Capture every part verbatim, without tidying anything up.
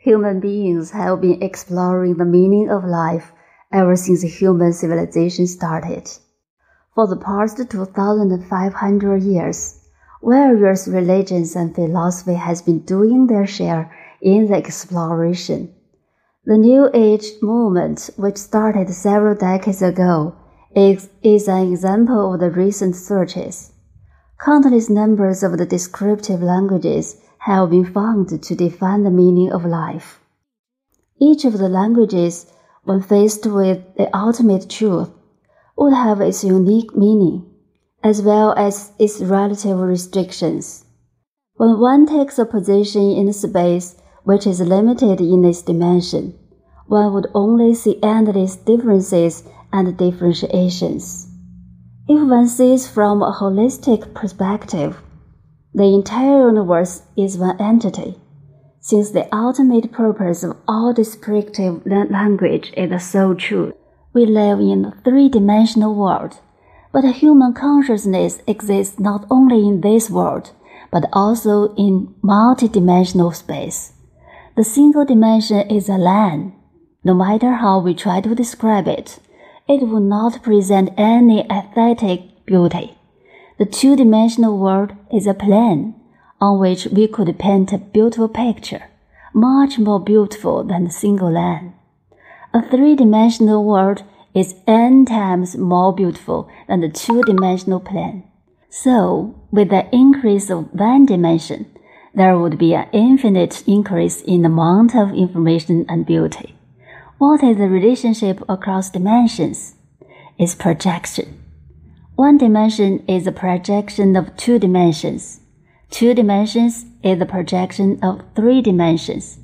Human beings have been exploring the meaning of life ever since human civilization started. For the past two thousand five hundred years, various religions and philosophy has been doing their share in the exploration. The New Age movement, which started several decades ago, is, is an example of the recent searches. Countless numbers of the descriptive languages have been found to define the meaning of life. Each of the languages, when faced with the ultimate truth, would have its unique meaning, as well as its relative restrictions. When one takes a position in space which is limited in its dimension, one would only see endless differences and differentiations. If one sees from a holistic perspective, the entire universe is one entity, since the ultimate purpose of all descriptive language is the sole truth. We live in a three-dimensional world, but human consciousness exists not only in this world, but also in multidimensional space. The single dimension is a land. No matter how we try to describe it, it will not present any aesthetic beauty. The two-dimensional world is a plane on which we could paint a beautiful picture, much more beautiful than the single land. A three-dimensional world is n times more beautiful than the two-dimensional plane. So, with the increase of one dimension, there would be an infinite increase in the amount of information and beauty. What is the relationship across dimensions? It's projection. One dimension is a projection of two dimensions. Two dimensions is the projection of three dimensions.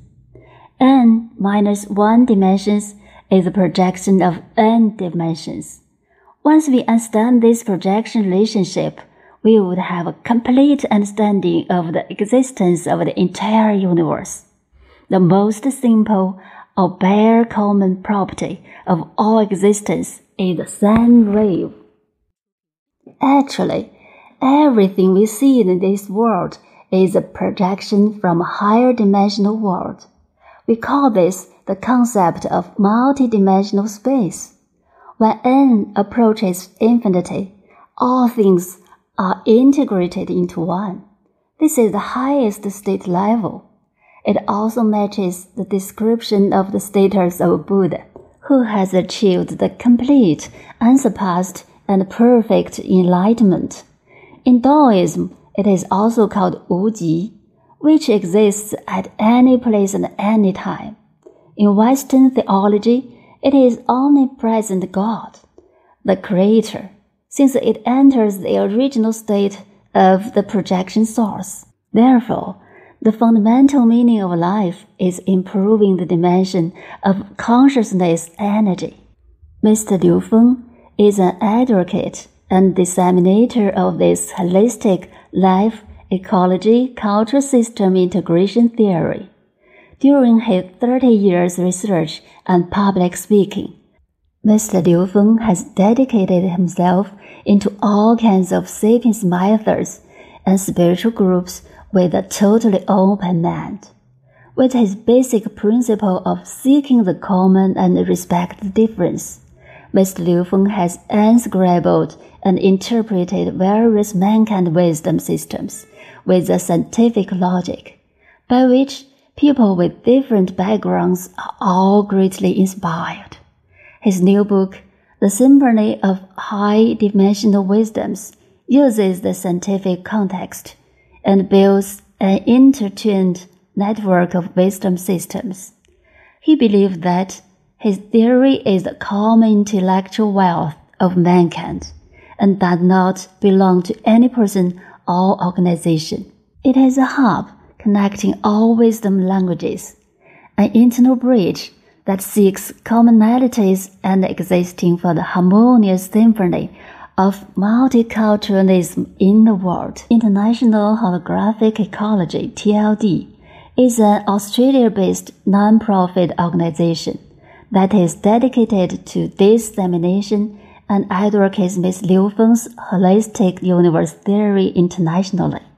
N minus one dimensions is the projection of n dimensions. Once we understand this projection relationship, we would have a complete understanding of the existence of the entire universe. The most simple or bare common property of all existence is the sine wave. Actually, everything we see in this world is a projection from a higher dimensional world. We call this the concept of multidimensional space. When n approaches infinity, all things are integrated into one. This is the highest state level. It also matches the description of the status of Buddha, who has achieved the complete, unsurpassed, and perfect enlightenment. In Taoism, it is also called Wuji, which exists at any place and any time. In Western theology, it is omnipresent God, the Creator, since it enters the original state of the projection source. Therefore, the fundamental meaning of life is improving the dimension of consciousness energy. Mister Liu Feng is an advocate and disseminator of this holistic life, ecology, culture system integration theory. During his thirty years research and public speaking, Mister Liu Feng has dedicated himself into all kinds of sapiens methods and spiritual groups with a totally open mind. With his basic principle of seeking the common and respect the difference, Mister Liu Feng has inscribed and interpreted various mankind wisdom systems with a scientific logic, by which people with different backgrounds are all greatly inspired. His new book, The Symphony of High-Dimensional Wisdoms, uses the scientific context and builds an intertwined network of wisdom systems. He believed that his theory is the common intellectual wealth of mankind and does not belong to any person or organization. It is a hub connecting all wisdom languages, an internal bridge that seeks commonalities and existing for the harmonious symphony of multiculturalism in the world. International Holographic Ecology, T L D, is an Australia-based non-profit organization that is dedicated to dissemination and advocates Mister Liu Feng's holistic universe theory internationally.